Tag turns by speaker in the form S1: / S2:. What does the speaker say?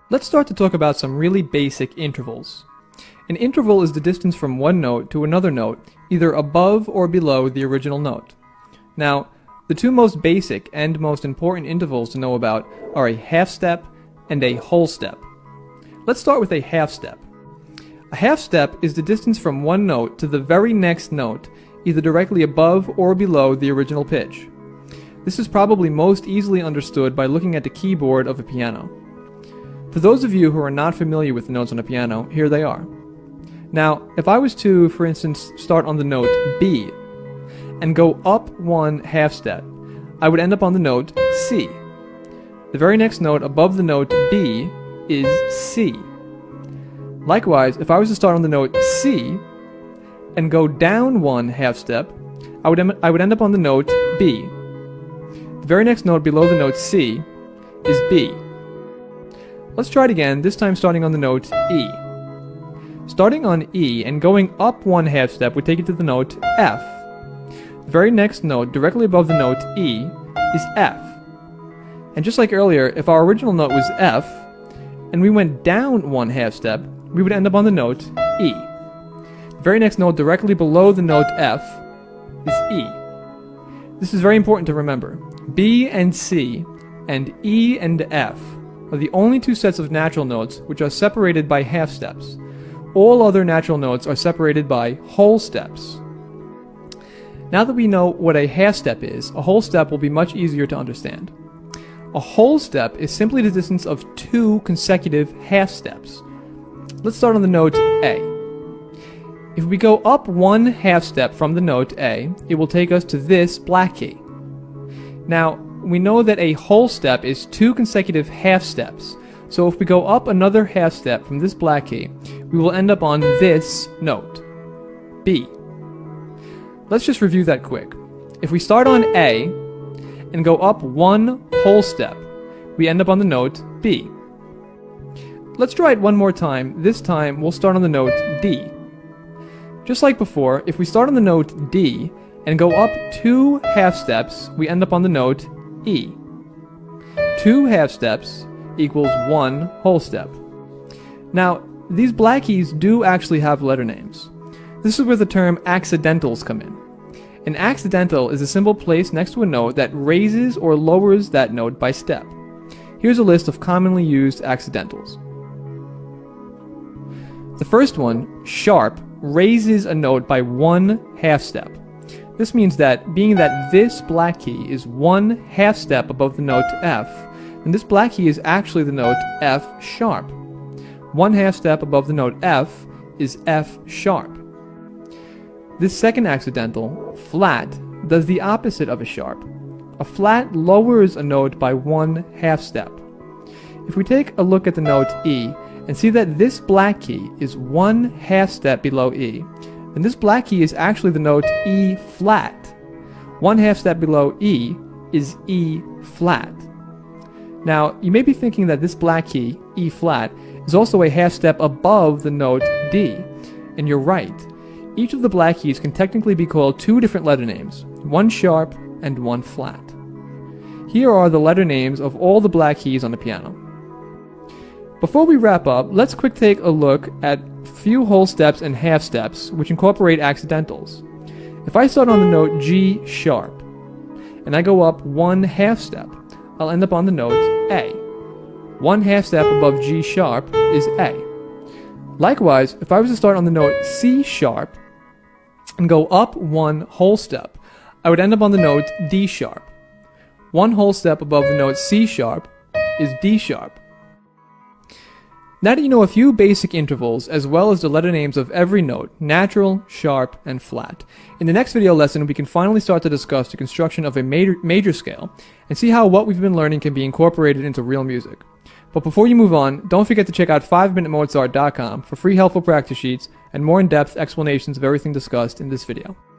S1: Let's start to talk about some really basic intervals. An interval is the distance from one note to another note, either above or below the original note. Now, the two most basic and most important intervals to know about are a half step and a whole step. Let's start with a half step. A half step is the distance from one note to the very next note, either directly above or below the original pitch. This is probably most easily understood by looking at the keyboard of a piano. For those of you who are not familiar with the notes on a piano, here they are. Now, if I was to, for instance, start on the note B and go up one half step, I would end up on the note C. The very next note above the note B is C. Likewise, if I was to start on the note C and go down one half step, I would end up on the note B. The very next note below the note C is B. Let's try it again, this time starting on the note E. Starting on E and going up one half step would take you to the note F. The very next note directly above the note E is F. And just like earlier, if our original note was F, and we went down one half step, we would end up on the note E. The very next note directly below the note F is E. This is very important to remember. B and C and E and F are the only two sets of natural notes which are separated by half steps. All other natural notes are separated by whole steps. Now that we know what a half step is, a whole step will be much easier to understand. A whole step is simply the distance of two consecutive half steps. Let's start on the note A. If we go up one half step from the note A, it will take us to this black key. Now, we know that a whole step is two consecutive half steps, so if we go up another half step from this black key, we will end up on this note, B. Let's just review that quick. If we start on A and go up one whole step, we end up on the note B. Let's try it one more time. This time we'll start on the note D. Just like before, if we start on the note D and go up two half steps, we end up on the note E. Two half steps equals one whole step. Now, these black keys do actually have letter names. This is where the term accidentals come in. An accidental is a symbol placed next to a note that raises or lowers that note by step. Here's a list of commonly used accidentals. The first one, sharp, raises a note by one half step. This means that, being that this black key is one half step above the note F, then this black key is actually the note F sharp. One half step above the note F is F sharp. This second accidental, flat, does the opposite of a sharp. A flat lowers a note by one half step. If we take a look at the note E and see that this black key is one half step below E, then this black key is actually the note E flat. One half step below E is E flat. Now, you may be thinking that this black key, E flat, is also a half step above the note D, and you're right. Each of the black keys can technically be called two different letter names, one sharp and one flat. Here are the letter names of all the black keys on the piano. Before we wrap up, let's quick take a look at a few whole steps and half steps which incorporate accidentals. If I start on the note G sharp and I go up one half step, I'll end up on the note A. One half step above G sharp is A. Likewise, if I was to start on the note C sharp and go up one whole step, I would end up on the note D sharp. One whole step above the note C sharp is D sharp. Now that you know a few basic intervals as well as the letter names of every note, natural, sharp, and flat, in the next video lesson we can finally start to discuss the construction of a major scale and see how what we've been learning can be incorporated into real music. But before you move on, don't forget to check out 5minutemozart.com for free helpful practice sheets and more in-depth explanations of everything discussed in this video.